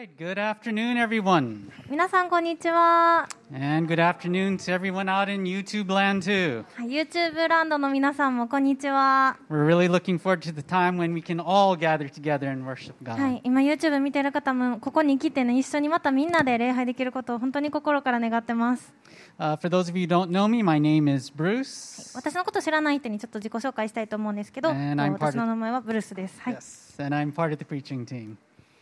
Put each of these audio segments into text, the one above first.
right, good afternoon, everyone. 皆さんこんにちは。 And good afternoon to everyone out in YouTube land, too. YouTube ランドの皆さんもこんにちは。 We're really looking forward to the time when we can all gather together and worship God. はい、今 YouTube 見てる方もここに来てね、一緒にまたみんなで礼拝できることを本当に心から願ってます。 For those of you who don't know me, my name is Bruce. 私のこと知らない人にちょっと自己紹介したいと思うんですけど、 And I'm part of- 私の名前はブルースです。はい。 Yes, and I'm part of the preaching team.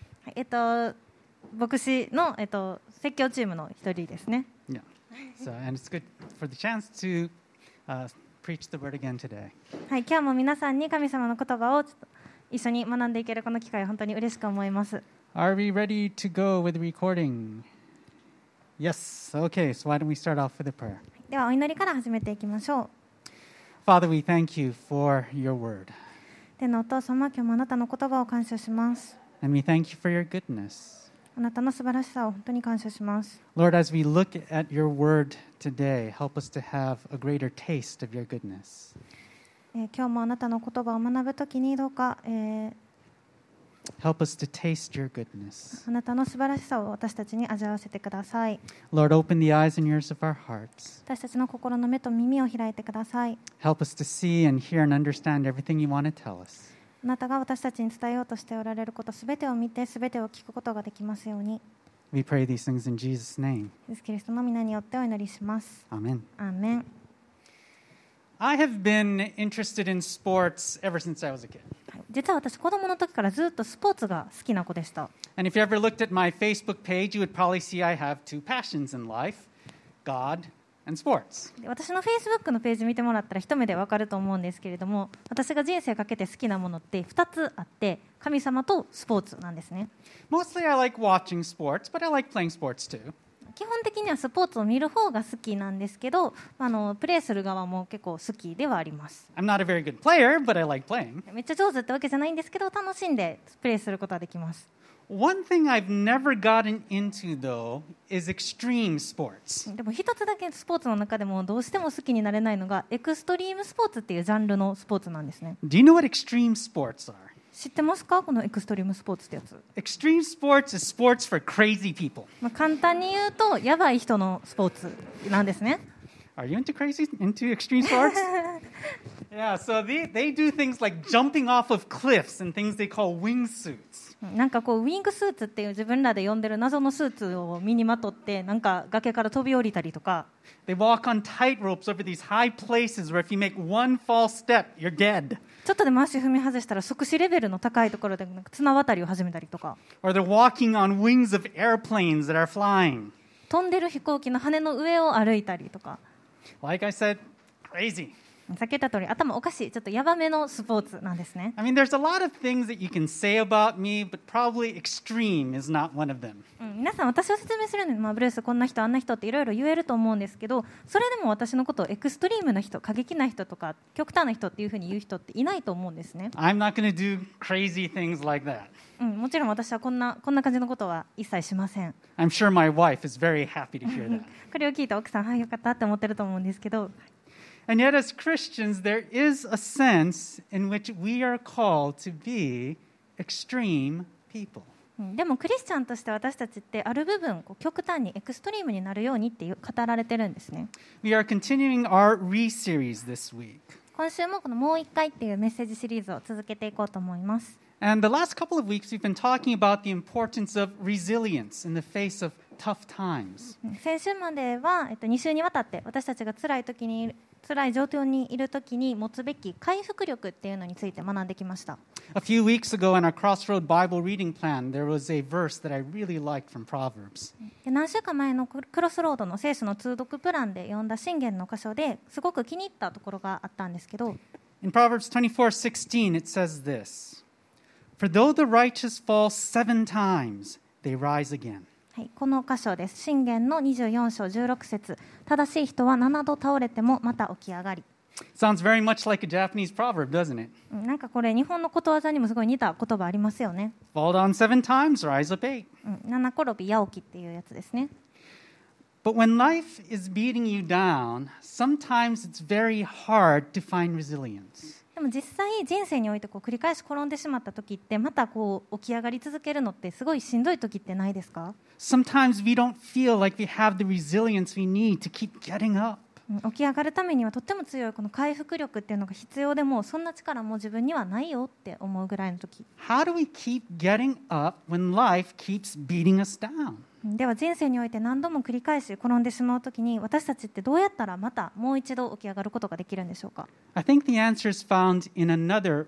牧師の、説教チームの一人ですね。 Yeah. And it's good for the chance to preach the word again today. はい、今日も皆さんに神様の言葉をちょっと一緒に学んでいけるこの機会を本当に嬉しく思います。 Are we ready to go with the recording? Yes. Okay, so why don't we start off with a prayer? ではお祈りから始めていきましょう。 Father, we thank you for your word. 天のお父様、今日もあなたの言葉を感謝します。 And we thank you for your goodness. あなたの素晴らしさを本当に感謝します。 Lord, as we look at your word today, help us to have a greater taste of your goodness. 今日もあなたの言葉を学ぶときにどうか、 Help us to taste your goodness. あなたの素晴らしさを私たちに味わわせてください。 Lord, open the eyes and ears of our hearts. 私たちの心の目と耳を開いてください。 Help us to see and hear and understand everything you want to tell us. あなたが私たちに伝えようとしておられることすべてを見てすべてを聞くことができますように。 We pray these things in Jesus' name. イエス・キリストの皆によってお祈りします。 Amen. アーメン。 I have been interested in sports ever since I was a kid. 実は私子供の時からずっとスポーツが好きな子でした。 And if you ever looked at my Facebook page, you would probably see I have two passions in life, God and sports. で私の Facebook のページ見てもらったら一目でわかると思うんですけれども、私が人生かけて好きなものって2つあって、神様とスポーツなんですね。 Mostly I like watching sports, but I like playing sports too. 基本的にはスポーツを見る方が好きなんですけど、プレーする側も結構好きではあります。 I'm not a very good player, but I like playing. めっちゃ上手ってわけじゃないんですけど、楽しんでプレーすることはできます。 One thing I've never gotten into, though, is extreme sports. でも一つだけスポーツの中でもどうしても好きになれないのがエクストリームスポーツっていうジャンルのスポーツなんですね。 Do you know what extreme sports are? 知ってますか、このエクストリームスポーツってやつ。 Extreme sports is sports for crazy people. 簡単に言うとやばい人のスポーツなんですね。 Are you into extreme sports? Yeah, so they do things like jumping off of cliffs and things they call wingsuits. なんかこうウィングスーツっていう自分らで呼んでる謎のスーツを身にまとってなんか崖から飛び降りたりとか、 They walk on tight ropes over these high places where if you make one false step, you're dead. ちょっとでも足踏み外したら即死レベルの高いところでなんか綱渡りを始めたりとか、 Or they're walking on wings of airplanes that are flying. 飛んでる飛行機の羽の上を歩いたりとか、 Like I said, crazy. さっき言った通り頭おかしいちょっとヤバめのスポーツなんですね。 I mean, there's a lot of things that you can say about me, but probably extreme is not one of them. 皆さん私を説明するのに、ブルースこんな人あんな人っていろいろ言えると思うんですけど、それでも私のことをエクストリームな人、過激な人とか極端な人っていうふうに言う人っていないと思うんですね。 I'm not going to do crazy things like that. もちろん私はこんな感じのことは一切しません。 I'm sure my wife is very happy to hear that. これを聞いた奥さん、はい、よかったって思ってると思うんですけど、 And yet, as Christians, there is a sense in which we are called to be extreme people. でもクリスチャンとして私たちってある部分極端にエクストリームになるようにって語られてるんですね。 We are continuing our re-series this week. 今週もこのもう一回っていうメッセージシリーズを続けていこうと思います。 And the last couple of weeks, we've been talking about the importance of resilience in the face of tough times. 先週までは、2週にわたって私たちが辛い状況にいるときに持つべき回復力っていうのについて学んできました。 A few weeks ago in our Crossroad Bible reading plan, there was a verse that I really liked from Proverbs. で何週間前のクロスロードの聖書の通読プランで読んだ箴言の箇所ですごく気に入ったところがあったんですけど、 In Proverbs 24:16, it says this, For though the righteous fall 7 times, they rise again. はい、この箇所です。箴言の24章16節、正しい人は7度倒れてもまた起き上がり。 Sounds very much like a Japanese proverb, doesn't it? なんかこれ日本のことわざにもすごい似た言葉ありますよね。 Fall down 7 times, rise up 8. 七転び八起きっていうやつですね。 But when life is beating you down, sometimes it's very hard to find resilience. でも実際人生においてこう繰り返し転んでしまった時ってまたこう起き上がり続けるのってすごいしんどい時ってないですか？ Sometimes we don't feel like we have the resilience we need to keep getting up. 起き上がるためにはとっても強いこの回復力っていうのが必要でもそんな力も自分にはないよって思うぐらいの時。 How do we keep getting up when life keeps beating us down? では人生において何度も繰り返し転んでしまう時に私たちってどうやったらまたもう一度起き上がることができるんでしょうか？ I think the answer is found in another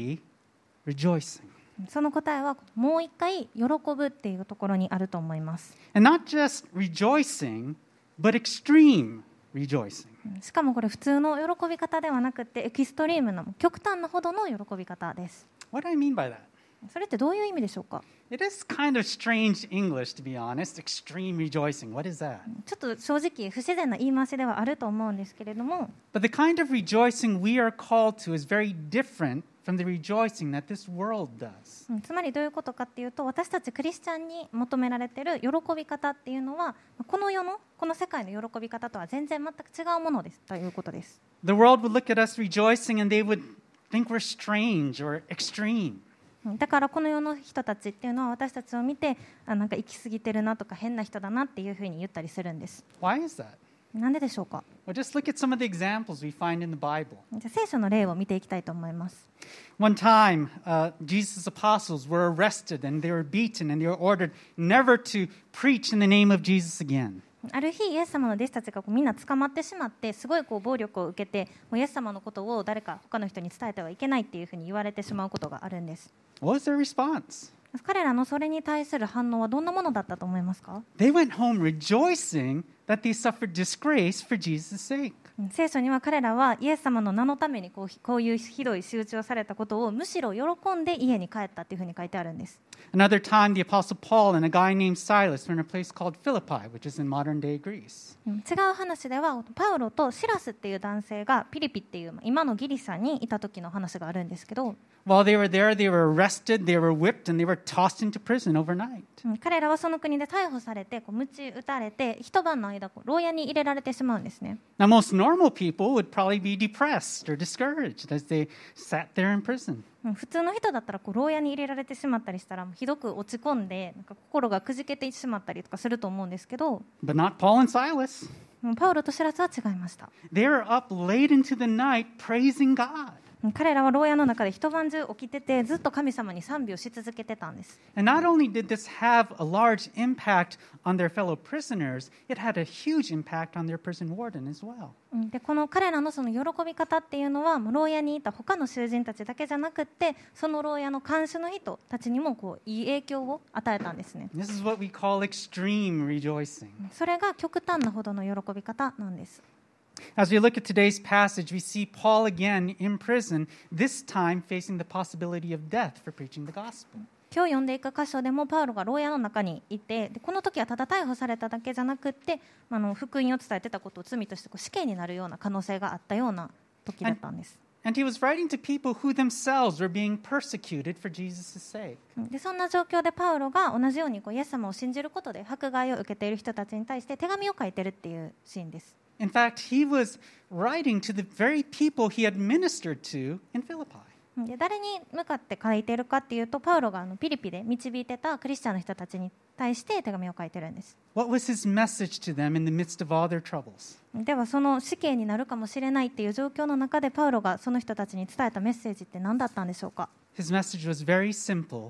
rejoicing. その答えはもう一回喜ぶっていうところにあると思います。 And not just rejoicing, but extreme rejoicing. しかもこれ普通の喜び方ではなくてエキストリームな極端なほどの喜び方です。 What do I mean by that? それってどういう意味でしょうか？ It is kind of strange English, to be honest. Extreme rejoicing. What is that? ちょっと正直不自然な言い回しではあると思うんですけれども、 But the kind of rejoicing we are called to is very different from the rejoicing that this world does. つまりどういうことかっていうと私たちクリスチャンに求められている喜び方っていうのはこの世界の喜び方とは全然全く違うものですということです。 The world would look at us rejoicing and they would think we're strange or extreme. だからこの世の人たちっていうのは私たちを見てなんか行き過ぎてるなとか変な人だなっていうふうに言ったりするんです。 Why is that? なんででしょうか？ Well, just look at some of the examples we find in the Bible. じゃあ聖書の例を見ていきたいと思います。 One time, Jesus' apostles were arrested and they were beaten and they were ordered never to preach in the name of Jesus again. ある日イエス様の弟子たちがみんな捕まってしまってすごい暴力を受けてイエス様のことを誰か他の人に伝えてはいけないっていうふうに言われてしまうことがあるんです。 What was their response? 彼らのそれに対する反応はどんなものだったと思いますか？ They went home rejoicing that they suffered disgrace for Jesus' sake. 聖書には彼らはイエス様の名のためにこういうひどい仕打ちをされたことをむしろ喜んで家に帰ったっていうふうに書いてあるんです。 Another time, the Apostle Paul and a guy named Silas were in a place called Philippi, which is in modern-day Greece. 違う話ではパウロとシラスっていう男性がピリピっていう今のギリシャにいた時の話があるんですけど、 While they were there, they were arrested, they were whipped, and they were tossed into prison overnight. 彼らはその国で逮捕されて鞭打たれて一晩の間牢屋に入れられてしまうんですね。 Now, most normal people would probably be depressed or discouraged as they sat there in prison. 普通の人だったら牢屋に入れられてしまったりしたらひどく落ち込んでなんか心がくじけてしまったりとかすると思うんですけど、 But not Paul and Silas. パウロとシラスは違いました。 They were up late into the night praising God. 彼らは牢屋の中で一晩中起きててずっと神様に賛美をし続けてたんです。 And not only did this have a large impact on their fellow prisoners, it had a huge impact on their prison warden as well. でこの彼らのその喜び方っていうのは牢屋にいた他の囚人たちだけじゃなくってその牢屋の看守の人たちにもいい影響を与えたんですね。 This is what we call extreme rejoicing. それが極端なほどの喜び方なんです。 As we look at today's passage, we see Paul again in prison, this time facing the possibility of death for preaching the gospel. 今日読んでいく箇所でもパウロが牢屋の中にいてこの時はただ逮捕されただけじゃなくって福音を伝えてたことを罪として死刑になるような可能性があったような時だったんです。 And he was writing to people who themselves were being persecuted for Jesus' sake. でそんな状況でパウロが同じようにイエス様を信じることで迫害を受けている人たちに対して手紙を書いてるっていうシーンです。 In fact, he was writing to the very people he had ministered to in Philippi. で誰に向かって書いているかっていうとパウロがピリピで導いてたクリスチャンの人たちに対して手紙を書いてるんです。 What was his message to them in the midst of all their troubles? ではその死刑になるかもしれないっていう状況の中でパウロがその人たちに伝えたメッセージって何だったんでしょうか？ His message was very simple.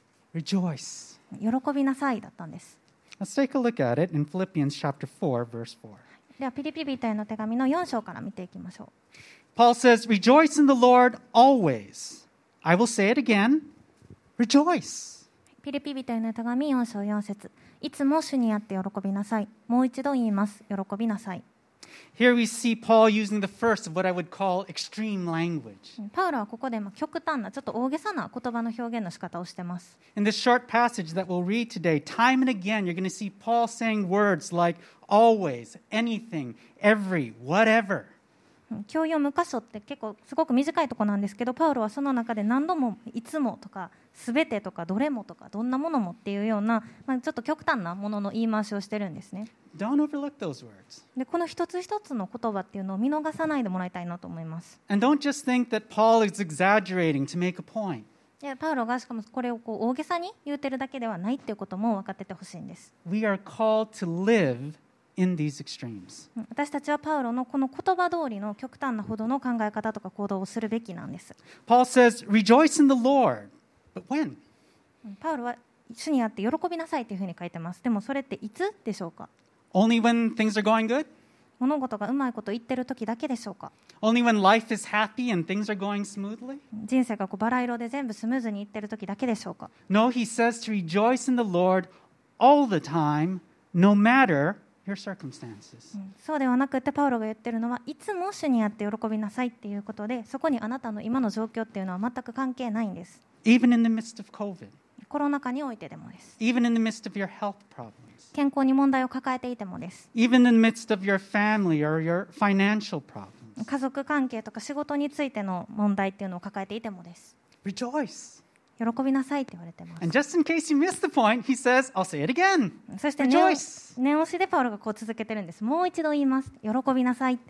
Rejoice. 喜びなさいだったんです。 Let's take a look at it in Philippians chapter 4, verse 4. ではピリピ人への手紙の4章から見ていきましょう。 Paul says, Rejoice in the Lord always. I will say it again. Rejoice. ピリピ人への手紙4章4節いつも主にあって喜びなさい。もう一度言います。喜びなさい。 Here we see Paul using the first of what I would call extreme language. パウロはここで極端なちょっと大げさな言葉の表現の仕方をしています。 In this short passage that we'll read today, time and again, you're going to see Paul saying words like always, anything, every, whatever. 今日読む箇所って結構すごく短いところなんですけど、パウロはその中で何度もいつもとかすべてとかどれもとかどんなものもっていうような、ちょっと極端なものの言い回しをしてるんですね。 Don't overlook those words. でこの一つ一つの言葉っていうのを見逃さないでもらいたいなと思います。 And don't just think that Paul is exaggerating to make a point. でパウロがしかもこれを大げさに言うてるだけではないっていうことも分かっててほしいんです。 We are called to live in these extremes. 私たちはパウロのこの言葉通りの極端なほどの考え方とか行動をするべきなんです。 Paul says, rejoice in the Lord. But when? パウロは主にあって喜びなさいというふうに書いてます。でもそれっていつでしょうか。 Only when things are going good? 物事がうまいこと言ってる時だけでしょうか。 Only when life is happy and things are going smoothly? 人生がバラ色で全部スムーズにいってる時だけでしょうか。 No, he says to rejoice in the Lord all the time, no matter your circumstances. そうではなくてパウロが言ってるのはいつも主にあって喜びなさいっていうことで、そこにあなたの今の状況っていうのは全く関係ないんです。 Even in the midst of COVID, コロナ禍においてでもです。 even in the midst of your health problems, 健康に問題を抱えていてもです。 even in the midst of your family or your financial problems. 家族関係とか仕事についての問題っていうのを抱えていてもです。 Rejoice. 喜びなさいって言われてます。 And just in case you missed the point, he says, I'll say it again. そして Rejoice. 念押しでパウロがこう続けてるんです。もう一度言います。喜びなさいって。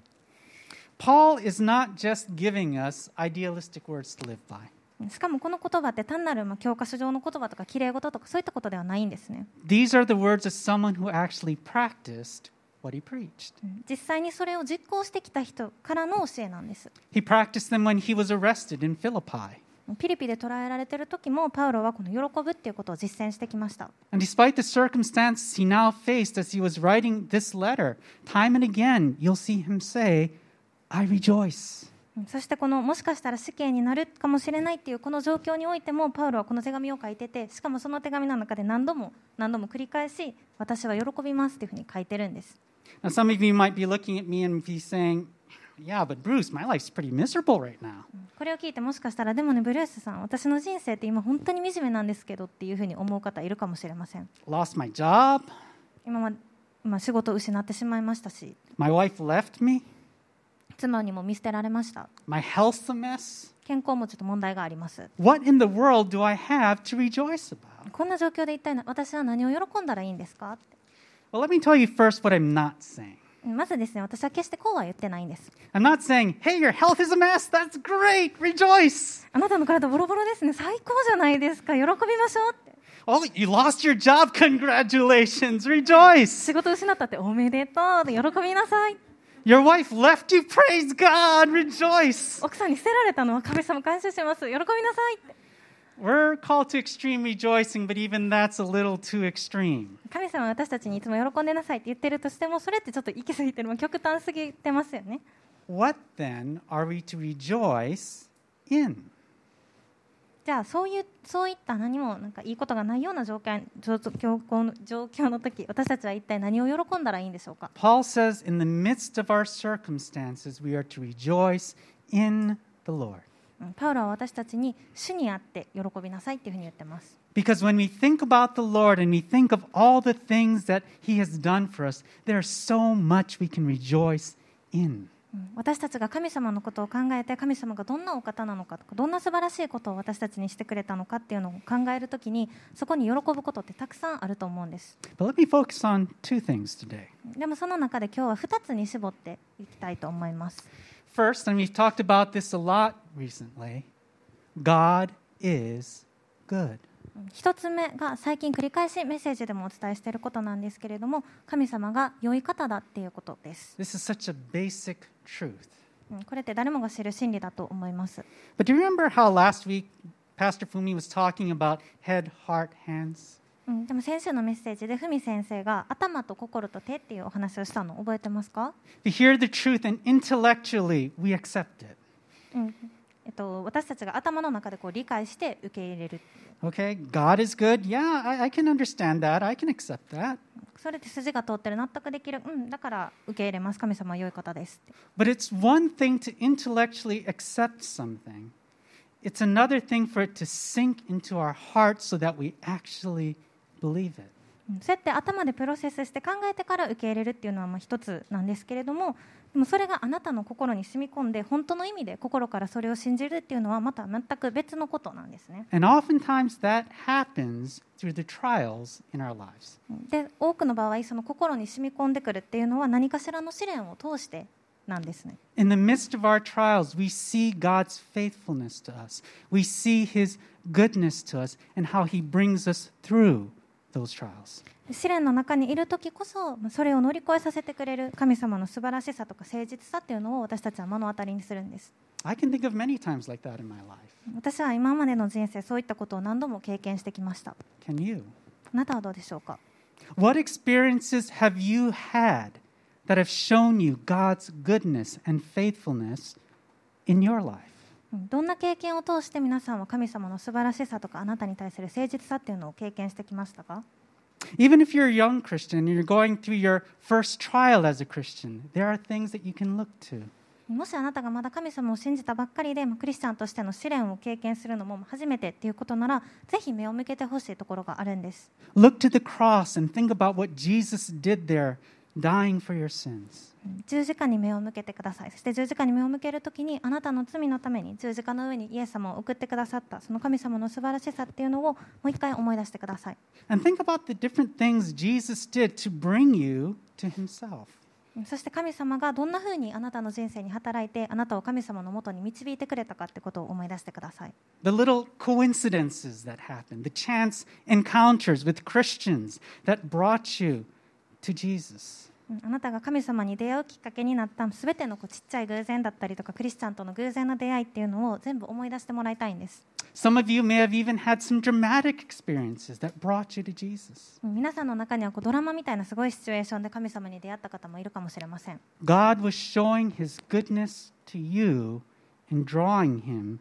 Paul is not just giving us idealistic words to live by. しかもこの言葉って単なる教科書上の言葉とかきれい事とかそういったことではないんですね。 These are the words of someone who actually practiced what he preached. 実際にそれを実行してきた人からの教えなんです。 He practiced them when he was arrested in Philippi. ピリピで捕らえられている時もパウロはこの喜ぶっていうことを実践してきました。 And despite the circumstances he now faced as he was writing this letter, time and again you'll see him say, I rejoice. そしてこのもしかしたら死刑になるかもしれないっていうこの状況においてもパウロはこの手紙を書いてて、しかもその手紙の中で何度も繰り返し私は喜びますっていうふうに書いてるんです。 Now some of you might be looking at me and be saying, yeah, but Bruce, my life's pretty miserable right now. これを聞いてもしかしたらでもねブルースさん、私の人生って今本当に惨めなんですけどっていうふうに思う方いるかもしれません。 Lost my job. 今仕事を失ってしまいましたし、 My wife left me. 妻にも見捨てられました。 My health's a mess. 健康もちょっと問題があります。 What in the world do I have to rejoice about? こんな状況で一体私は何を喜んだらいいんですかって。 Well, let me tell you first what I'm not saying. まずですね、私は決してこうは言ってないんです。 I'm not saying, hey, your health is a mess. That's great. Rejoice. あなたの体ボロボロですね。最高じゃないですか。喜びましょうって。 Oh, you lost your job. Congratulations. Rejoice. 仕事を失ったっておめでとう。喜びなさい。 Your wife left you. Praise God. Rejoice. 奥さんに捨てられたのは神様感謝します。喜びなさいって。 We're called to extreme rejoicing, but even that's a little too extreme. 神様は私たちにいつも喜んでなさいって言ってるとしても、それってちょっと行き過ぎてる、極端すぎてますよね。 What then are we to rejoice in? じゃあそういった何もいいことがないような状況の時、私たちは一体何を喜んだらいいんでしょうか。 Paul says, in the midst of our circumstances, we are to rejoice in the Lord. パウロは私たちに主にあって喜びなさいっていうふうに言ってます。 Because when we think about the Lord and we think of all the things that He has done for us, there's so much we can rejoice in. 私たちが神様のことを考えて、神様がどんなお方なのかとか、どんな素晴らしいことを私たちにしてくれたのかっていうのを考えるときに、そこに喜ぶことってたくさんあると思うんです。 But let me focus on two things today. でもその中で今日は2つに絞っていきたいと思います。 First, and we've talked about this a lot recently, God is good. 1つ目が最近繰り返しメッセージでもお伝えしていることなんですけれども、神様が良い方だっていうことです。 This is such a basic truth. これって誰もが知る真理だと思います。 But do you remember how last week Pastor Fumi was talking about head, heart, hands? でも先週のメッセージでふみ先生が頭と心と手っていうお話をしたの覚えてますか？ We hear the truth and intellectually we accept it. 私たちが頭の中で理解して受け入れる。 Okay, God is good. Yeah, I can understand that. I can accept that. それって筋が通ってる、納得できる。だから受け入れます。神様は良い方です。 But it's one thing to intellectually accept something. It's another thing for it to sink into our hearts so that we actually believe it. そうやって頭でプロセスして考えてから受け入れるっていうのはまあ一つなんですけれども、でもそれがあなたの心に染み込んで本当の意味で心からそれを信じるっていうのはまた全く別のことなんですね。 And oftentimes that happens through the trials in our lives. で多くの場合その心に染み込んでくるっていうのは何かしらの試練を通してなんですね。 In the midst of our trials, we see God's faithfulness to us. We see His goodness to us and how He brings us through those trials. 試練の中にいる時こそそれを乗り越えさせてくれる神様の素晴らしさとか誠実さっていうのを私たちは目の当たりにするんです。 I can think of many times like that in my life. 私は今までの人生そういったことを何度も経験してきました。 Can you? あなたはどうでしょうか。 What experiences have you had that have shown you God's goodness and faithfulness in your life? どんな経験を通して皆さんは神様の素晴らしさとかあなたに対する誠実さっていうのを経験してきましたか。 Even if you're a young Christian and you're going through your first trial as a Christian, there are things that you can look to. もしあなたがまだ神様を信じたばっかりでクリスチャンとしての試練を経験するのも初めてっていうことならぜひ目を向けてほしいところがあるんです。 Look to the cross and think about what Jesus did there, dying for your sins. 十字架に目を向けてください。そして十字架に目を向けるときにあなたの罪のために十字架の上にイエス様を送ってくださったその神様の素晴らしさっていうのをもう一回思い出してください。 And think about the different things Jesus did to bring you to Himself. そして神様がどんなふうにあなたの人生に働いてあなたを神様のもとに導いてくれたかってことを思い出してください。 The little coincidences that happened, the chance encounters with Christians that brought you to Jesus. あなたが神様に出会うきっかけになったすべてのちっちゃい偶然だったりとかクリスチャンとの偶然の出会いっていうのを全部思い出してもらいたいんです。 Some of you may have even had some dramatic experiences that brought you to Jesus. 皆さんの中にはドラマみたいなすごいシチュエーションで神様に出会った方もいるかもしれません。 God was showing His goodness to you and drawing you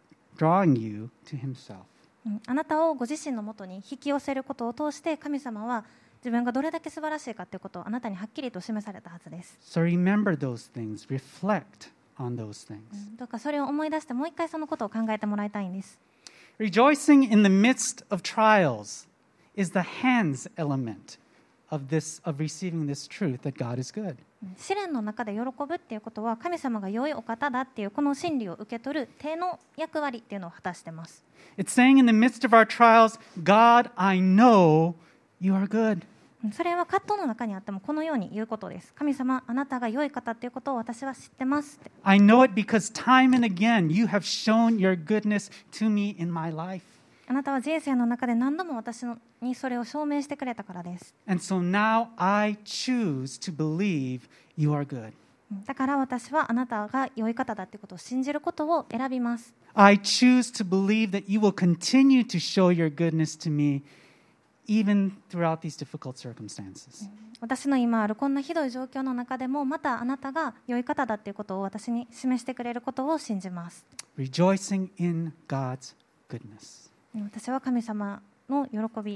to Himself. あなたをご自身のもとに引き寄せることを通して神様は自分がどれだけ素晴らしいかということをあなたにはっきりと示されたはずです。 So remember those things, reflect on those things. どうかそれを思い出してもう一回そのことを考えてもらいたいんです。 Rejoicing in the midst of trials is the hands element of receiving this truth that God is good. 試練の中で喜ぶっていうことは神様が良いお方だっていうこの真理を受け取る手の役割っていうのを果たしています。 It's saying in the midst of our trials, God, I know you are good. それは葛藤の中にあってもこのように言うことです。神様、あなたが良い方っていうことを私は知ってますって。 I know it because time and again you have shown your goodness to me in my life. あなたは人生の中で何度も私にそれを証明してくれたからです。 And so now I choose to believe you are good. だから私はあなたが良い方だってことを信じることを選びます。 I choose to believe that you will continue to show your goodness to me even throughout these difficult circumstances. 私の今あるこんなひどい状況の中でもまたあなたが良い方だっていうことを私に示してくれることを信じます。 Rejoicing in God's goodness. 私は神様の喜び。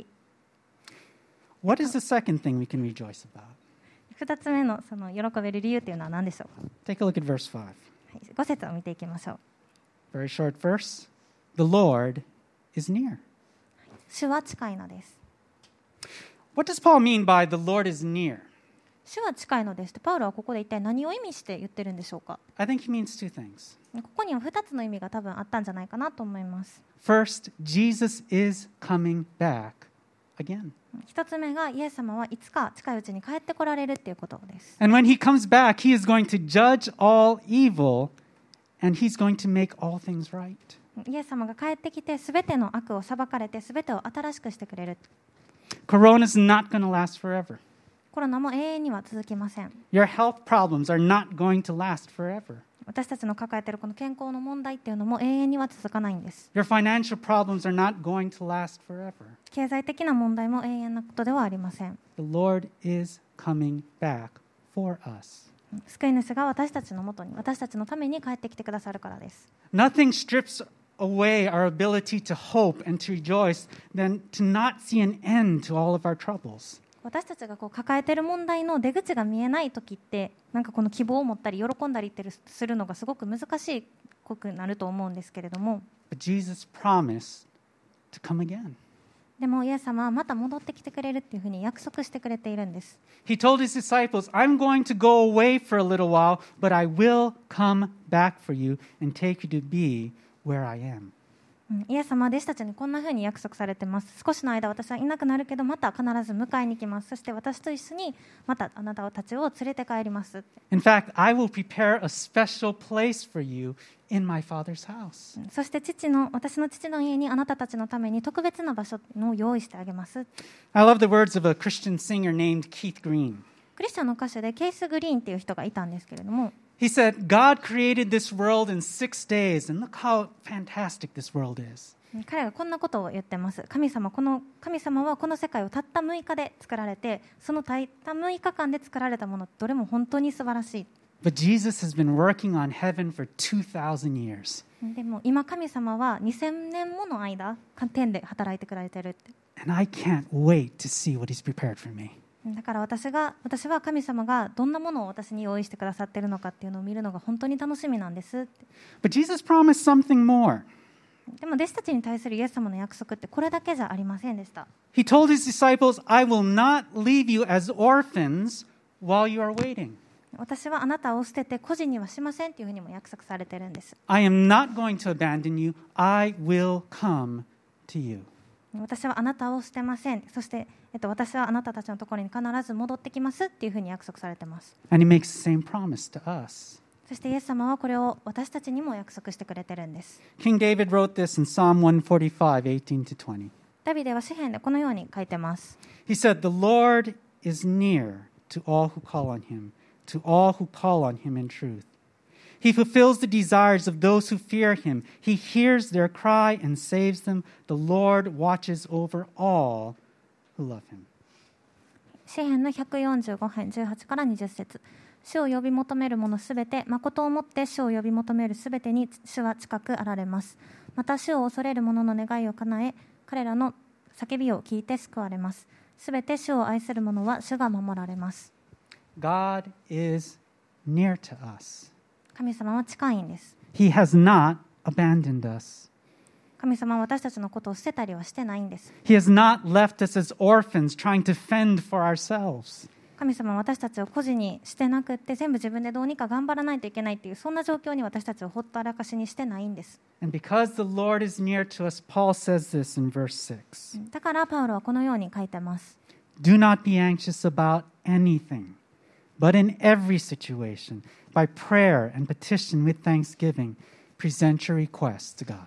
What is the second thing we can rejoice about? 2つ目のその喜べる理由というのは何でしょうか。 Take a look at verse 5. 5節を見ていきましょう。 Very short verse. The Lord is near. 主は近いのです。 What does Paul mean by the Lord is near? 主は近いのですとパウロはここで一体何を意味して言ってるんでしょうか。 I think he means two things. ここには2つの意味が多分あったんじゃないかなと思います。 First, Jesus is coming back again. 1つ目がイエス様はいつか近いうちに帰ってこられるっていうことです。 And when he comes back, he is going to judge all evil and he's going to make all things right. イエス様が帰ってきて全ての悪を裁かれて全てを新しくしてくれる。 Corona is not going to last forever. コロナも永遠には続きません。 Your health problems are not going to last forever. 私たちの抱えているこの健康の問題っていうのも永遠には続かないんです。 Your financial problems are not going to last forever. 経済的な問題も永遠なことではありません。 The Lord is coming back for us. 救い主が私たちのもとに私たちのために帰ってきてくださるからです。 Nothing strips away our ability to hope and to rejoice than to not see an end to all of our troubles. 私たちが抱えている問題の出口が見えない時ってなんかこの希望を持ったり喜んだりするのがすごく難しくなると思うんですけれども、 But Jesus promised to come again. でもイエス様はまた戻ってきてくれるっていうふうに約束してくれているんです。 He told his disciples, I'm going to go away for a little while, but I will come back for you and take you to be where I am. イエス様は弟子たちにこんなふうに約束されています。少しの間私はいなくなるけどまた必ず迎えに来ます。そして私と一緒にまたあなたたちを連れて帰ります。 In fact, I will prepare a special place for you in my Father's house. そして私の父の家にあなたたちのために特別な場所を用意してあげます。 I love the words of a Christian singer named Keith Green. クリスチャンの歌手でケイス・グリーンっていう人がいたんですけれども、 He said, God created this world in 6 days, and look how fantastic this world is. 彼がこんなことを言ってます。神様はこの世界をたった6日で作られて、そのたった6日間で作られたものどれも本当に素晴らしい。 But Jesus has been working on heaven for 2,000 years. でも今神様は2000年もの間天で働いてくれてるって。 And I can't wait to see what He's prepared for me. だから私は神様がどんなものを私に用意してくださっているのかっていうのを見るのが本当に楽しみなんですって。 But Jesus promised something more. でも弟子たちに対するイエス様の約束ってこれだけじゃありませんでした。 He told His disciples, I will not leave you as orphans while you are waiting. 私はあなたを捨てて孤児にはしませんっていうふうにも約束されているんです。 I am not going to abandon you. I will come to you. 私はあなたを捨てません。そして、私はあなたたちのところに必ず戻ってきますっていうふうに約束されています。 And He makes the same promise to us. そしてイエス様はこれを私たちにも約束してくれてるんです。 King David wrote this in Psalm 145, 18 to 20. ダビデは詩篇でこのように書いてます。 He said, The Lord is near to all who call on Him, to all who call on Him in truth. He fulfills the desires of those who fear Him. He hears their cry and saves them. The Lord watches over all who love Him. 詩篇の145編18から20節。主を呼び求める者すべて、誠をもって主を呼び求めるすべてに主は近くあられます。また主を恐れる者の願いを叶え、彼らの叫びを聞いて救われます。すべて主を愛する者は主が守られます。 God is near to us. 神様は近いんです。 He has not abandoned us. 神様は私たちのことを捨てたりはしてないんです。 He has not left us as orphans trying to fend for ourselves. 神様は私たちを孤児にしてなくって全部自分でどうにか頑張らないといけないっていうそんな状況に私たちをほったらかしにしてないんです。 And because the Lord is near to us, Paul says this in verse 6. だからパウロはこのように書いてます。 Do not be anxious about anything, but in every situation, by prayer and petition with thanksgiving, present your requests to God.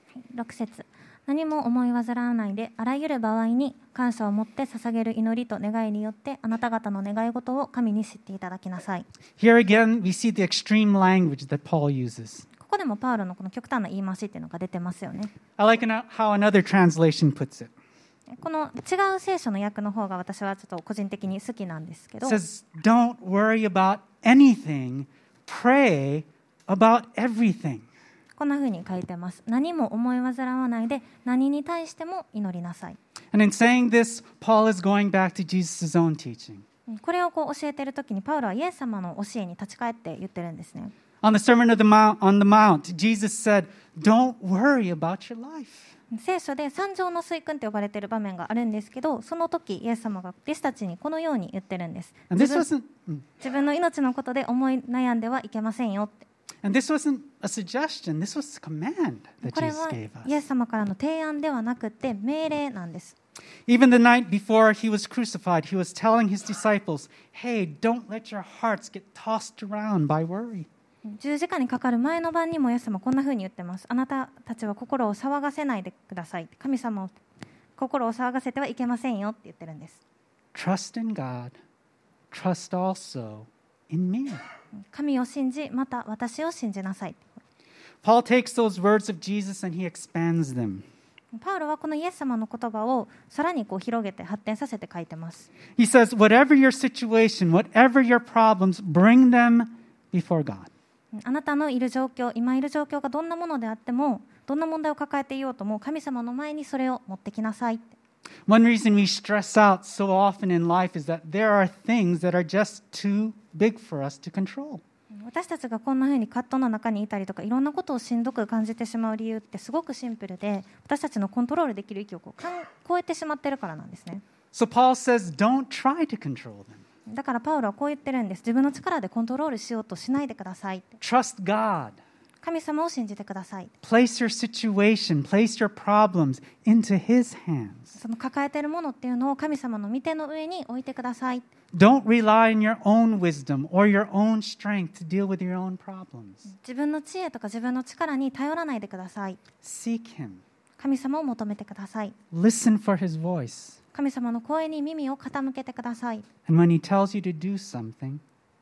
6節。何も思い煩わないで、あらゆる場合に感謝を持って捧げる祈りと願いによってあなた方の願い事を神に知っていただきなさい。 Here again, we see the extreme language that Paul uses. ここでもパウロのこの極端な言い回しっていうのが出てますよね。 I like how another translation puts it. この違う聖書の訳の方が私はちょっと個人的に好きなんですけど、 It says, don't worry about anything, pray about everything. こんな風に書いてます。何も思い煩わないで何に対しても祈りなさい。 And in saying this, Paul is going back to Jesus' own teaching. これをこう教えているときにパウロはイエス様の教えに立ち返って言ってるんですね。 On the Sermon on the Mount, Jesus said, don't worry about your life. 聖書で三条の水訓と呼ばれている場面があるんですけど、その時イエス様が弟子たちにこのように言ってるんです。 And this wasn't, 自分の命のことで思い悩んではいけませんよって。 and this wasn't a suggestion, this was a command that これ Jesus は gave イエ us. ス様からの提案ではなくて命令なんです。 Even the night before he was crucified, he was telling his disciples, hey, don't let your hearts get tossed around by worry. 十字架にかかる前の晩にもイエス様はこんな風に言ってます。あなたたちは心を騒がせないでください。神様を心を騒がせてはいけませんよって言ってるんです。 Trust in God, trust also in me. 神を信じ、また私を信じなさい。 Paul takes those words of Jesus and he expands them. パウロはこのイエス様の言葉をさらにこう広げて発展させて書いてます。 He says, whatever your situation, whatever your problems, bring them before God. あなたのいる状況、今いる状況がどんなものであっても、どんな問題を抱えていようとも、神様の前にそれを持ってきなさい。 One reason we stress out so often in life is that there are things that are just too big for us to control. 私たちがこんな風に葛藤の中にいたりとかいろんなことをしんどく感じてしまう理由ってすごくシンプルで、私たちのコントロールできる域を超えてしまってるからなんですね。 So Paul says, don't try to control them. だからパウロはこう言ってるんです。自分の力でコントロールしようとしないでください。 Trust God. 神様を信じてください。 Place your situation, place your problems into His hands. その抱えているものっていうのを神様の御手の上に置いてください。 Don't rely on your own wisdom or your own strength to deal with your own problems. 自分の知恵とか自分の力に頼らないでください。 Seek Him. 神様を求めてください。 Listen for His voice. 神様の声に耳を傾けてください。 And when He tells you to do something,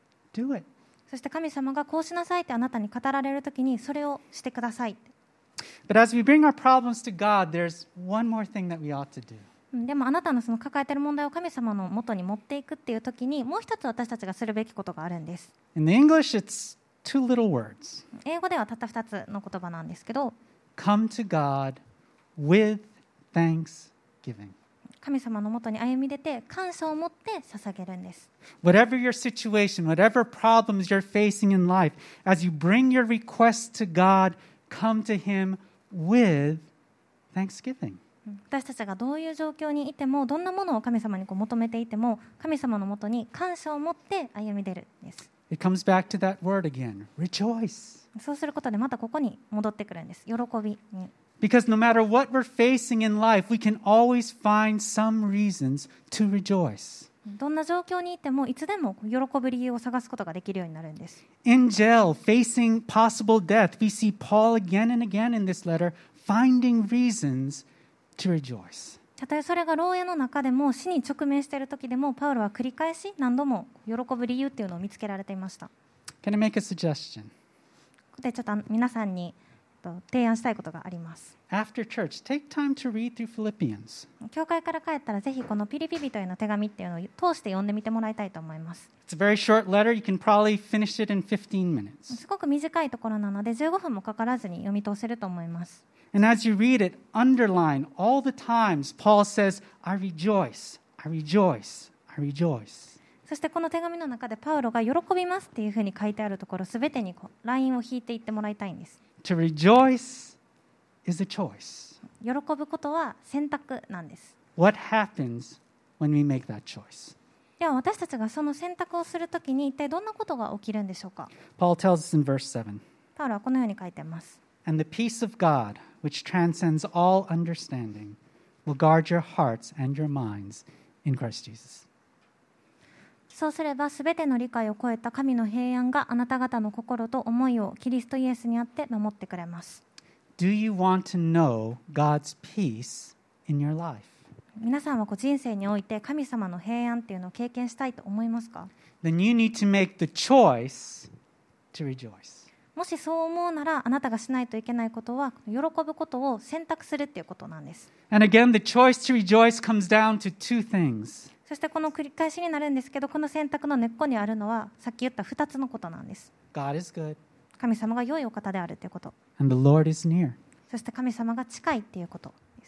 do it. そして神様がこうしなさいってあなたに語られるときにそれをしてください。 But as we bring our problems to God, there's one more thing that we ought to do. でもあなたのその抱えている問題を神様の元に持っていくっていうときにもう一つ私たちがするべきことがあるんです。 In the English, it's two little words. 英語ではたった2つの言葉なんですけど、 Come to God with thanksgiving. 神様の元に歩み出て感謝を持って捧げるんです。 Whatever your situation, whatever problems you're facing in life, as you bring your requests to God, come to Him with thanksgiving. 私たちがどういう状況にいてもどんなものを神様に求めていても神様の元に感謝を持って歩み出るんです。 It comes back to that word again, rejoice. そうすることでまたここに戻ってくるんです。喜びに。 Because no matter what we're facing in life, we can always find some reasons to rejoice. どんな状況にいてもいつでも喜ぶ理由を探すことができるようになるんです。 In jail, facing possible death, we see Paul again and again in this letter finding reasons to rejoice. たとえそれが牢屋の中でも死に直面している時でもパウロは繰り返し何度も喜ぶ理由っていうのを見つけられていました。 Can I make a suggestion? でちょっと皆さんに提案したいことがあります。 After church, take time to read through Philippians. 教会から帰ったらぜひこのピリピ人への手紙っていうのを通して読んでみてもらいたいと思います。 It's a very short letter. You can probably finish it in 15 minutes. すごく短いところなので15分もかからずに読み通せると思います。 And as you read it, underline all the times Paul says, I rejoice, I rejoice, I rejoice. そしてこの手紙の中でパウロが喜びますっていうふうに書いてあるところすべてにラインを引いていってもらいたいんです。 To rejoice is a choice. 喜ぶことは選択なんです。 What happens when we make that choice? では私たちがその選択をするときに一体どんなことが起きるんでしょうか。 Paul tells us in verse 7, パウロはこのように書いています。 And the peace of God, which transcends all understanding, will guard your hearts and your minds in Christ Jesus. そうすればすべての理解を超えた神の平安があなた方の心と思いをキリストイエスにあって守ってくれます。 Do you want to know God's peace in your life? 皆さんは人生において神様の平安っていうのを経験したいと思いますか？ Then you need to make the choice to rejoice. もしそう思うならあなたがしないといけないことは喜ぶことを選択するっていうことなんです。 And again, the choice to rejoice comes down to two things. そしてこの繰り返しになるんですけどこの選択の根っこにあるのはさっき言った2つのことなんです。 God is good, 神様が良いお方であるということ、 and the Lord is near. そして神様が近いっていうことです。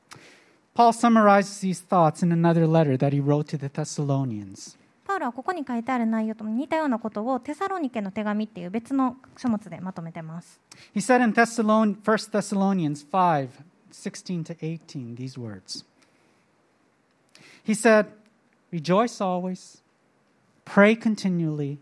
Paul summarizes these thoughts in another letter that he wrote to the Thessalonians. パウロはここに書いてある内容と似たようなことをテサロニケの手紙っていう別の書物でまとめてます。 He said in 1 Thessalonians 5, 16 to 18, these words. He said, Rejoice always, pray continually,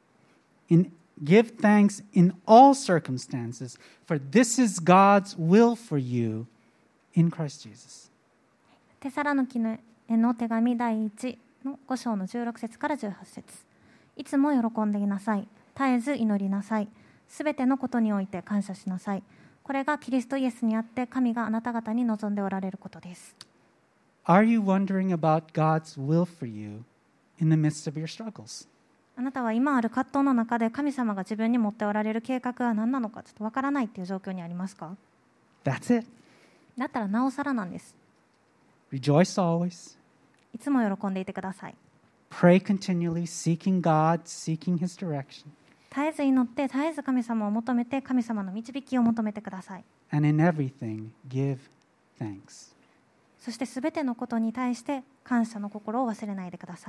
give thanks in all circumstances, for this is God's will for you in Christ Jesus. テサロニケへの手紙第1の5章の16節から18節。いつも喜んでいなさい。絶えず祈りなさい。すべてのことにおいて感謝しなさい。これがキリストイエスにあって神があなた方に望んでおられることです。 Are you wondering about God's will for you in the midst of your struggles? あなたは今ある葛藤の中で神様が自分に持っておられる計画は何なのかちょっとわからないっていう状況にありますか？ That's it. だったらなおさらなんです。 Rejoice always. いつも喜んでいてください。 Pray continually, seeking God, seeking His direction. 絶えず祈って絶えず神様を求めて神様の導きを求めてください。 And in everything, give thanks. そしてすべてのことに対して感謝の心を忘れないでください。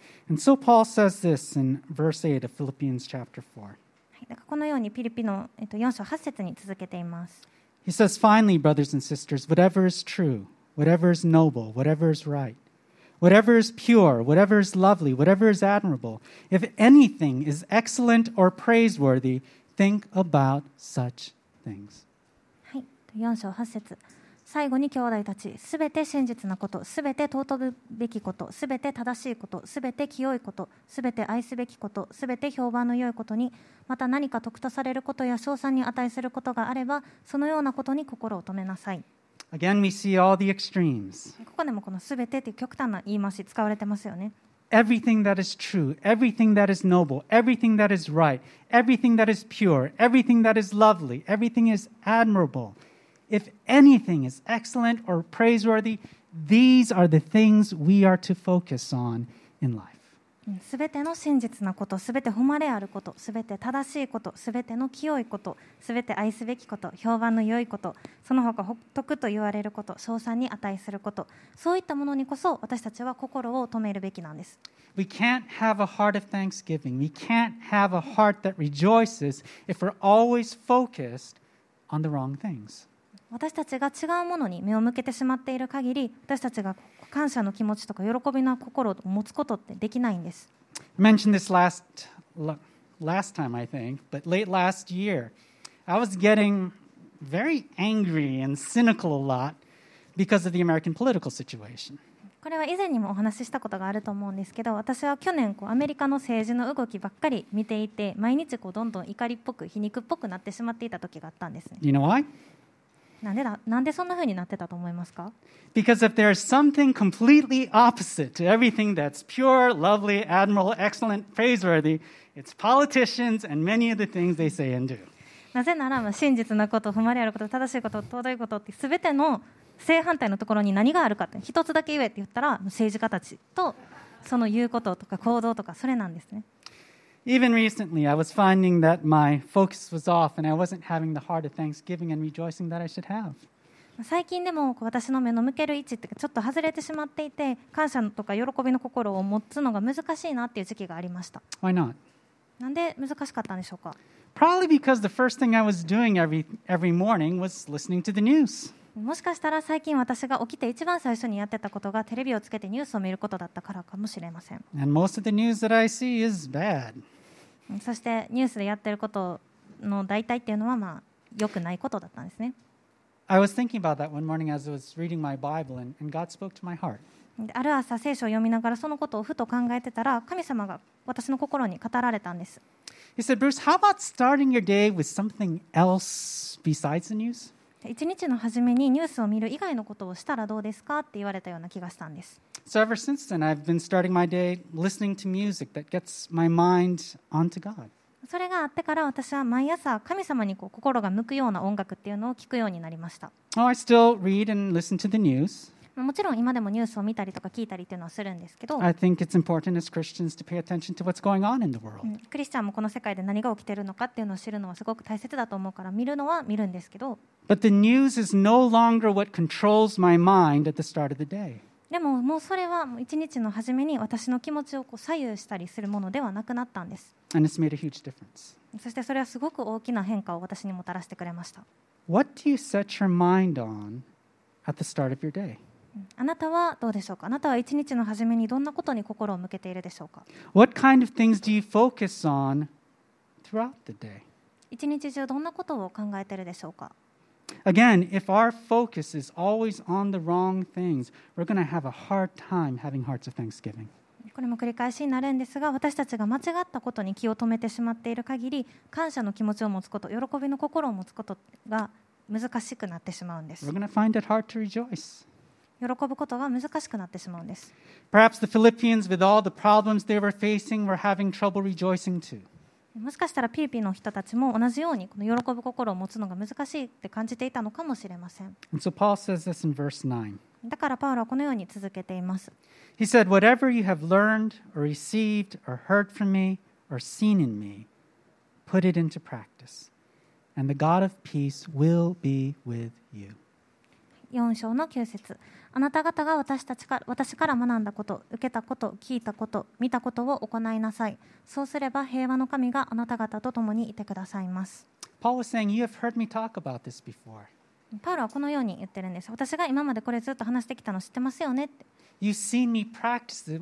And so Paul says this in verse 8 of Philippians chapter 4. はい、だからこのようにピリピの4章8節に続けています。 He says, finally, brothers and sisters, whatever is true, whatever is noble, whatever is right, whatever is pure, whatever is lovely, whatever is admirable, if anything is excellent or praiseworthy, think about such things. はい、4章8節。最後に兄弟たち、すべて真実なこと、すべて尊ぶべきこと、すべて正しいこと、すべて清いこと、すべて愛すべきこと、すべて評判の良いことに、また何か得とされることや称賛に値することがあれば、そのようなことに心を留めなさい。 Again, we see all the extremes. ここでもこのすべてという極端な言い回し使われてますよね。 Everything that is true, everything that is noble, everything that is right, everything that is pure, everything that is lovely, everything is admirable.If anything is excellent or praiseworthy, these are the things we are to focus on in life. すべての真実なこと、すべて誉れあること、すべて正しいこと、すべての清いこと、すべて愛すべきこと、評判の良いこと、その他徳と言われること、称賛に値すること、そういったものにこそ私たちは心を止めるべきなんです。 We can't have a heart of thanksgiving. We can't have a heart that rejoices if we're always focused on the wrong things. 私たちが違うものに目を向けてしまっている限り、私たちが感謝の気持ちとか喜びの心を持つことってできないんです。 I mentioned this last time, I think, but late last year, I was getting very angry and cynical a lot because of the American political situation. これは以前にもお話ししたことがあると思うんですけど、私は去年アメリカの政治の動きばっかり見ていて、毎日どんどん怒りっぽく皮肉っぽくなってしまっていた時があったんですね。 You know why? なんでそんな風になってたと思いますか？ Because if there's something completely opposite to everything that's pure, lovely, admirable, excellent, praiseworthy, it's politicians and many of the things they say and do. なぜなら真実なこと、誉れあること、正しいこと、尊いことって全ての正反対のところに何があるかって一つだけ言えって言ったら政治家たちとその言うこととか行動とかそれなんですね。 Even recently, I was finding that my focus was off and I wasn't having the heart of thanksgiving and rejoicing that I should have. 最近でも私の目の向ける位置ってちょっと外れてしまっていて、感謝とか喜びの心を持つのが難しいなっていう時期がありました。 Why not? なんで難しかったんでしょうか？ Probably because the first thing I was doing every morning was listening to the news. もしかしたら最近私が起きて一番最初にやってたことがテレビをつけてニュースを見ることだったからかもしれません。 And most of the news that I see is bad. そしてニュースでやってることの大体っていうのは良くないことだったんですね。 I was thinking about that one morning as I was reading my Bible and God spoke to my heart. ある朝聖書を読みながらそのことをふと考えてたら神様が私の心に語られたんです。 He said, Bruce, how about starting your day with something else besides the news? 一日の初めにニュースを見る以外のことをしたらどうですかって言われたような気がしたんです。 So ever since then, I've been starting my day listening to music that gets my mind onto God. それがあってから私は毎朝神様に心が向くような音楽っていうのを聞くようになりました。 Oh, I still read and listen to the news. もちろん今でもニュースを見たりとか聞いたりっていうのはするんですけど、 I think it's important as Christians to pay attention to what's going on in the world. クリスチャンもこの世界で何が起きているのかっていうのを知るのはすごく大切だと思うから見るのは見るんですけど、 But the news is no longer what controls my mind at the start of the day. でももうそれは一日の初めに私の気持ちを左右したりするものではなくなったんです。 And it's made a huge difference. そしてそれはすごく大きな変化を私にもたらしてくれました。 What do you set your mind on at the start of your day? あなたはどうでしょうか？あなたは一日の初めにどんなことに心を向けているでしょうか？ What kind of things do you focus on throughout the day? 一日中どんなことを考えているでしょうか？ Again, if our focus is always on the wrong things, we're going to have a hard time having hearts of thanksgiving. これも繰り返しになるんですが、私たちが間違ったことに気を止めてしまっている限り、感謝の気持ちを持つこと、喜びの心を持つことが難しくなってしまうんです。 We're going to find it hard to rejoice. 喜ぶことが難しくなってしまうんです。 Perhaps the Philippians, with all the problems they were facing, were having trouble rejoicing too. もしかしたらピリピの人たちも同じようにこの喜ぶ心を持つのが難しいって感じていたのかもしれません。 And so Paul says this in verse 9. だからパウロはこのように続けています。 He said, Whatever you have learned or received or heard from me or seen in me, put it into practice, and the God of peace will be with you. 4章の9節。 あなた方が私から学んだこと、受けたこと、聞いたこと、見たことを行いなさい。そうすれば平和の神があなた方と共にいてくださいます。 Paul was saying, you have heard me talk about this before. パウロはこのように言ってるんです。私が今までこれずっと話してきたの知ってますよねって。 You've seen me practice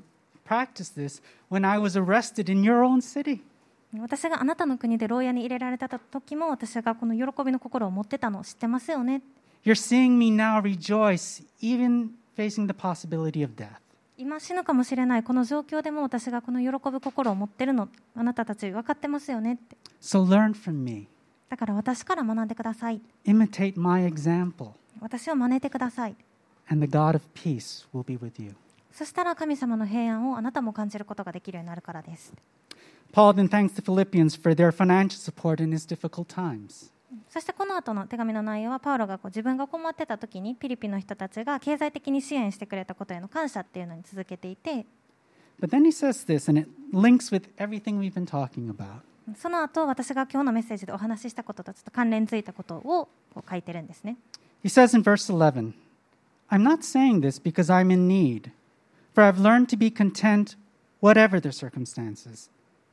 this when I was arrested in your own city. 私があなたの国で牢屋に入れられた時も私がこの喜びの心を持ってたのを知ってますよね。 You're seeing me now rejoice, even facing the possibility of death. 今死ぬかもしれないこの状況でも私がこの喜ぶ心を持ってるのあなたたち分かってますよねって。 So learn from me. だから私から学んでください。 Imitate my example. 私を真似てください。 And the God of peace will be with you. そしたら神様の平安をあなたも感じることができるようになるからです。 Paul then thanks the Philippians for their financial support in his difficult times. そしてこの後の手紙の内容はパウロが自分が困ってた時にピリピの人たちが経済的に支援してくれたことへの感謝っていうのに続けていて、 But then he says this, and it links with everything we've been talking about. その後私が今日のメッセージでお話ししたこととちょっと関連づいたことを書いてるんですね。 He says in verse 11, I'm not saying this because I'm in need, for I've learned to be content whatever the circumstances.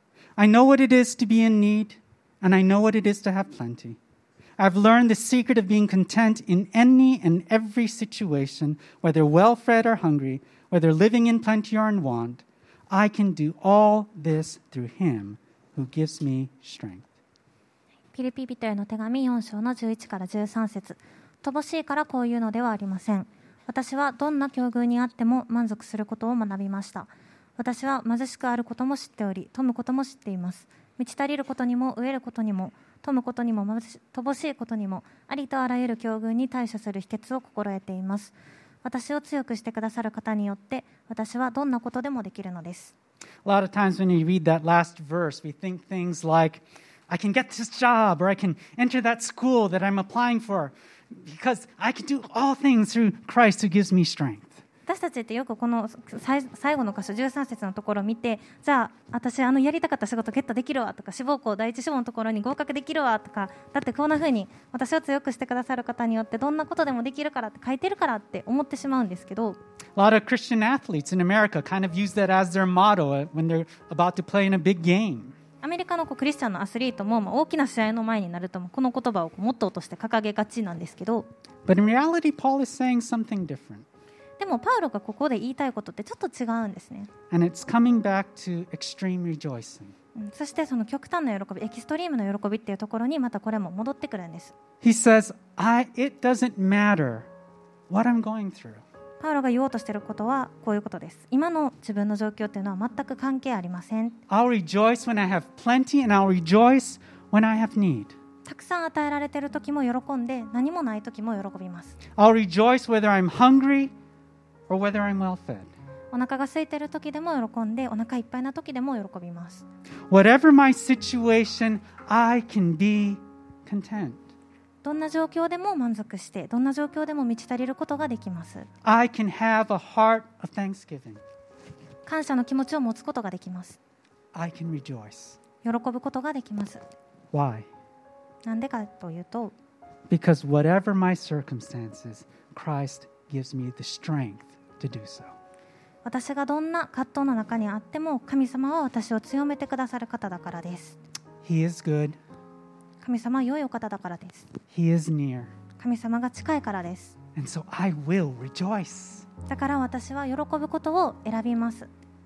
I know what it is to be in need, and I know what it is to have plenty. I've learned the secret of being content in any and every situation, whether well-fed or hungry, whether living in plenty or in want. I can do all this through Him who gives me strength. ピリピ人への手紙4章の11から13節。乏しいからこういうのではありません。私はどんな境遇にあっても満足することを学びました。私は貧しくあることも知っており、富むことも知っています。満ち足りることにも飢えることにも富むことにも乏しいことにもありとあらゆる境遇に対処する秘訣を心得ています。私を強くしてくださる方によって私はどんなことでもできるのです。 A lot of times when we read that last verse, we think things like, I can get this job, or I can enter that school that I'm applying for, because I can do all things through Christ who gives me strength. 私たちってよくこの最後の箇所13節のところを見て、じゃあ私やりたかった仕事ゲットできるわとか、志望校第一志望のところに合格できるわとか、だってこんな風に私を強くしてくださる方によってどんなことでもできるからって書いてるからって思ってしまうんですけど、 A lot of Christian athletes in America kind of use that as their motto when they're about to play in a big game. アメリカのクリスチャンのアスリートも、大きな試合の前になるとこの言葉をモットーとして掲げがちなんですけど、 But in reality, Paul is saying something different. でもパウロがここで言いたいことってちょっと違うんですね。 And it's coming back to extreme rejoicing. そしてその極端な喜び、エキストリームの喜びっていうところにまたこれも戻ってくるんです。 He says, it doesn't matter what I'm going through. パウロが言おうとしていることはこういうことです。今の自分の状況っていうのは全く関係ありません。 I'll rejoice when I have plenty, and I'll rejoice when I have need. たくさん与えられている時も喜んで、何もない時も喜びます。 I'll rejoice whether I'm hungry or whether I'm well fed. お腹が空いている時でも喜んで、お腹いっぱいな時でも喜びます。 Whatever my situation, I can be content. どんな状況でも満足して、どんな状況でも満ち足りることができます。 I can have a heart of thanksgiving. 感謝の気持ちを持つことができます。 I can rejoice. 喜ぶことができます。 Why? なんでかというと、 Because whatever my circumstances, Christ gives me the strength to do so. 私がどんな葛藤の中にあっても神様は私を強めてくださる方だからです。 He is good. 神様は良いお方だからです。 He is near. 神様が近いからです。 And so I will rejoice. だから私は喜ぶことを選びます。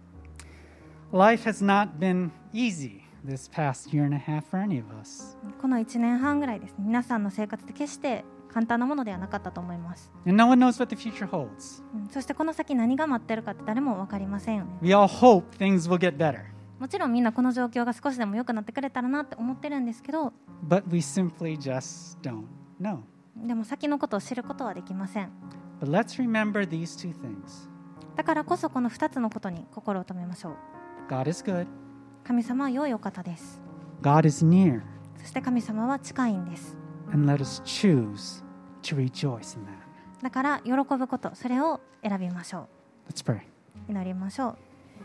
Life has not been easy this past year and a half for any of us. この1年半ぐらいですね、皆さんの生活って決して簡単なものではなかったと思います。 And no one knows what the future holds. そしてこの先何が待ってるかって誰も分かりませんよね。 We all hope things will get better. もちろんみんなこの状況が少しでも良くなってくれたらなって思ってるんですけど、 But we simply just don't know. でも先のことを知ることはできません。 But let's remember these two things. だからこそこの2つのことに心を留めましょう。 God is good. 神様は良いお方です。 God is near. そして神様は近いんです。 And let us choose to rejoice in that. だから喜ぶこと、それを選びましょ Let's pray. う。祈りましょう。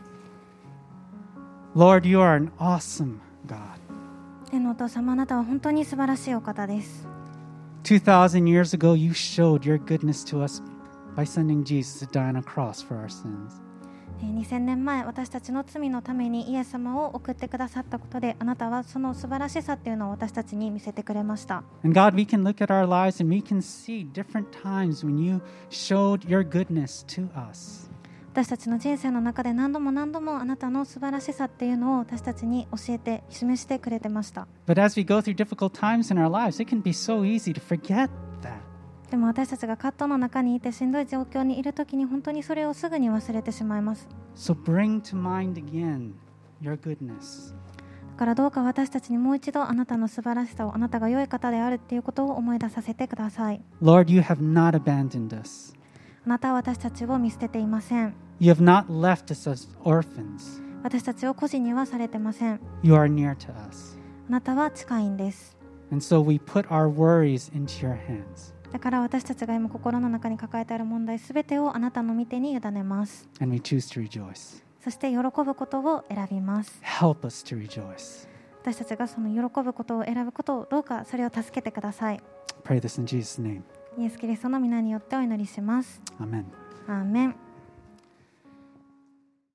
Lord, you are an awesome God. 天のお父様、あなたは本当に素晴らしいお方です。 2,000 years ago, you showed your goodness to us by sending Jesus to die on a cross for our sins. 2000年前私たちの罪のためにイエス様を送ってくださったことで、あなたはその素晴らしさっていうのを私たちに見せてくれました。 And God, we can look at our lives and we can see different times when you showed your goodness to us. 私たちの人生の中で何度も何度もあなたの素晴らしさっていうのを私たちに教えて示してくれてました。 But as we go through difficult times in our lives, it can be so easy to forget that. でも私たちが葛藤の中にいてしんどい状況にいるときに本当にそれをすぐに忘れてしまいます。 So bring to mind again your goodness. だからどうか私たちにもう一度あなたの素晴らしさを、あなたが良い方であるっていうことを思い出させてください。 Lord, you have not abandoned us. あなたは私たちを見捨てていません。 You have not left us as orphans. 私たちを孤児にはされてません。 You are near to us. あなたは近いんです。 And so we put our worries into your hands. だから私たちが今心の中に抱えてある問題すべてをあなたの御手に委ねます。 And we choose to rejoice. そして喜ぶことを選びます。 Help us to rejoice. 私たちがその喜ぶことを選ぶことをどうかそれを助けてください。 Pray this in Jesus' name. イエス・キリストの皆によってお祈りします。 Amen. アーメン。